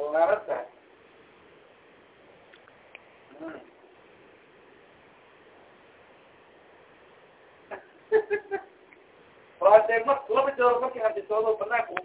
होणारच आहे. Project mas clube de ouro que a pessoa não tá com